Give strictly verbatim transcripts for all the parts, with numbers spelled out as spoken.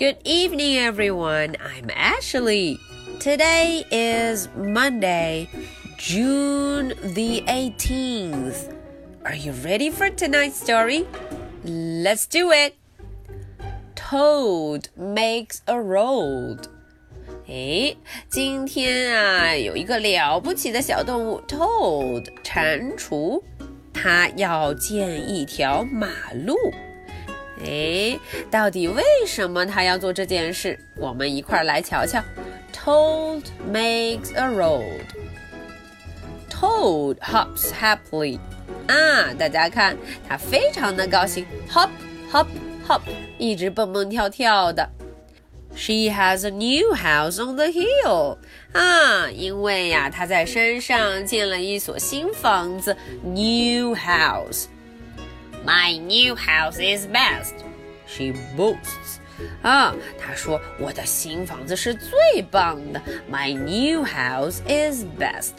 Good evening, everyone. I'm Ashley. Today is Monday, June the eighteenth. Are you ready for tonight's story? Let's do it. Toad makes a road. 诶，今天啊，有一个了不起的小动物 Toad 蟾蜍，它要建一条马路。诶，到底为什么它要做这件事？我们一块来瞧瞧。Toad makes a road. Toad hops happily. 啊，大家看，它非常的高兴 ，hop hop hop， 一直蹦蹦跳跳的。She has a new house on the hill. 啊，因为呀，她在山上建了一所新房子 ，new house.My new house is best, she boasts. 啊，她说我的新房子是最棒的 My new house is best.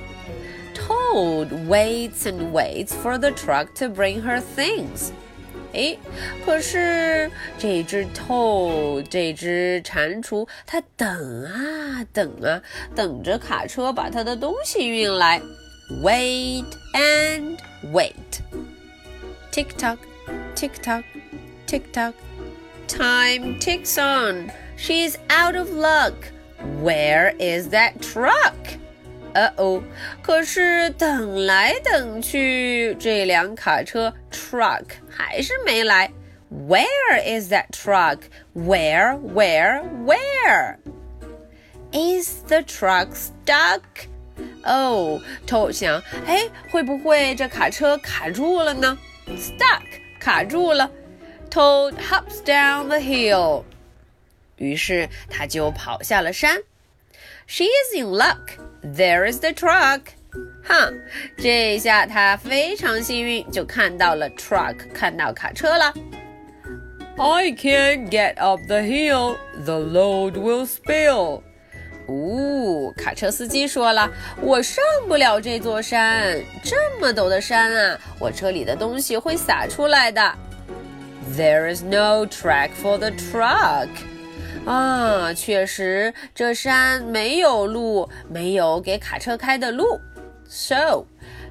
Toad waits and waits for the truck to bring her things. 诶，可是这只 Toad 这只蟾蜍它等啊等啊，等着卡车把它的东西运来 Wait and wait.Tick-tock, tick-tock, tick-tock. Time ticks on. She's out of luck. Where is that truck? Uh-oh. 可是等来等去，这辆卡车 truck 还是没来。Where is that truck? Where, where, where? Is the truck stuck?哦，Toad想，哎，会不会这卡车卡住了呢？ Stuck 卡住了 Toad hops down the hill 于是他就跑下了山 She is in luck There is the truck 哈，这下他非常幸运就看到了 truck 看到卡车了 I can't get up the hill The load will spill哦，卡车司机说了，我上不了这座山，这么陡的山啊，我车里的东西会洒出来的。There is no track for the truck. 啊，确实，这山没有路，没有给卡车开的路。So,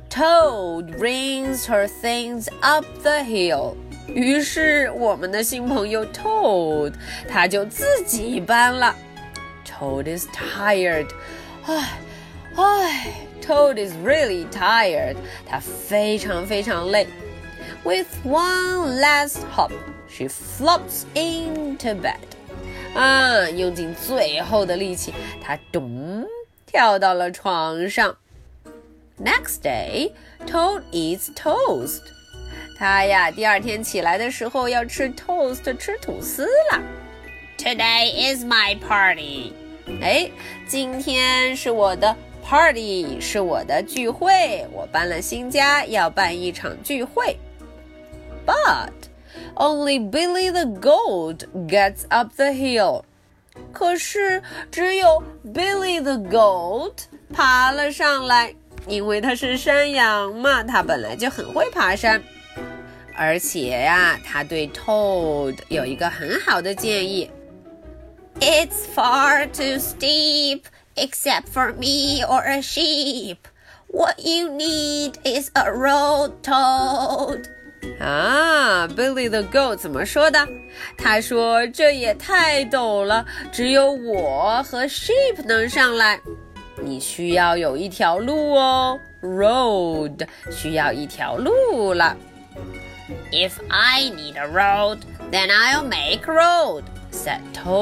Toad brings her things up the hill. 于是，我们的新朋友 Toad， 他就自己搬了。Toad is tired. 唉唉 Toad is really tired. 他非常非常累。With one last hop, she flops into bed. 啊，用尽最后的力气，她咚跳到了床上。Next day, Toad eats toast. 他呀，第二天起来的时候要吃 toast， 吃吐司了。Today is my party.哎，今天是我的 party， 是我的聚会，我搬了新家，要办一场聚会。But only Billy the Goat gets up the hill. 可是只有 Billy the Goat 爬了上来，因为他是山羊嘛，他本来就很会爬山。而且呀，他对 Toad 有一个很好的建议。It's far too steep, except for me or a sheep. What you need is a road, Toad. 啊 Billy the Goat 怎么说的？他说这也太陡了，只有我和 sheep 能上来。你需要有一条路哦 Road 需要一条路了。If I need a road, then I'll make road, said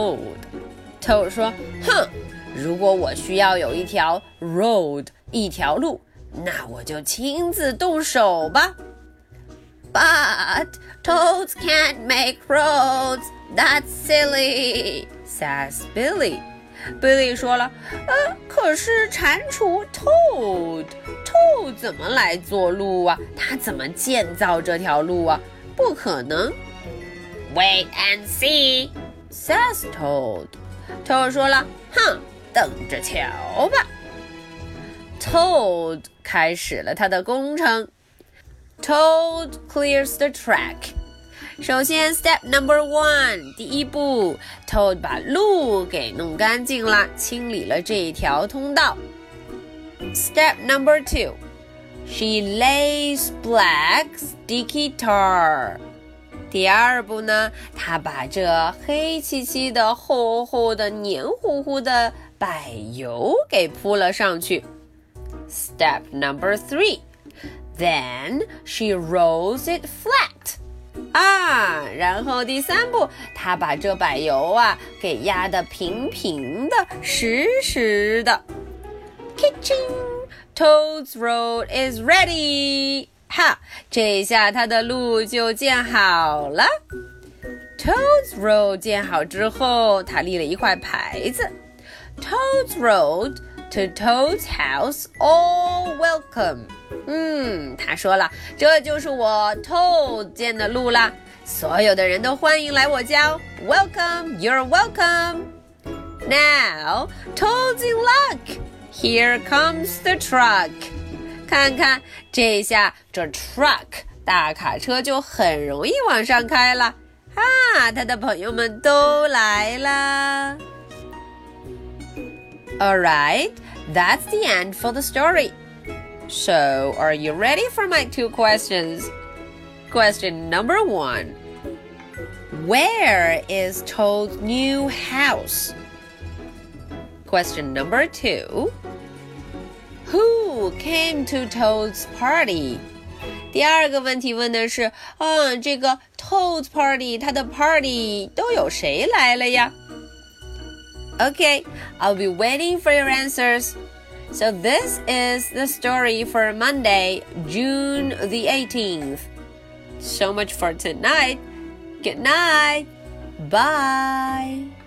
Toad.Toad 说，哼，如果我需要有一条 road 一条路，那我就亲自动手吧。But toads can't make roads. That's silly, says Billy. Billy 说了，呃，可是蟾蜍 Toad Toad 怎么来做路啊？他怎么建造这条路啊？不可能。Wait and see, says Toad.Toad 说了，哼，等着瞧吧。Toad 开始了他的工程。Toad clears the track. 首先 Step number one 第一步 Toad 把路给弄干净了，清理了这一条通道。 Step number two She lays black sticky tar 第二步呢，她把这黑漆漆的厚厚的黏糊糊的柏油给铺了上去。 Step number three Then she rolls it flat 啊，然后第三步，她把这柏油啊给压得平平的，实实的。Kitching, Toad's road is ready. 哈，这一下她的路就建好了。Toad's road 建好之后，她立了一块牌子。Toad's road to Toad's house, all welcome. 嗯，他说了，这就是我 Toad 建的路啦，所有的人都欢迎来我家。Welcome, you're welcome. Now, Toad's in luck. Here comes the truck. 看看，这下这 truck 大卡车就很容易往上开了。啊，他的朋友们都来啦。All right, that's the end for the story.So, are you ready for my two questions? Question number one. Where is Toad's new house? Question number two. Who came to Toad's party? 第二个问题问的是，嗯，这个 Toad's party, 他的 party 都有谁来了呀？ Okay, I'll be waiting for your answers.So this is the story for Monday, June the eighteenth. So much for tonight. Good night. Bye.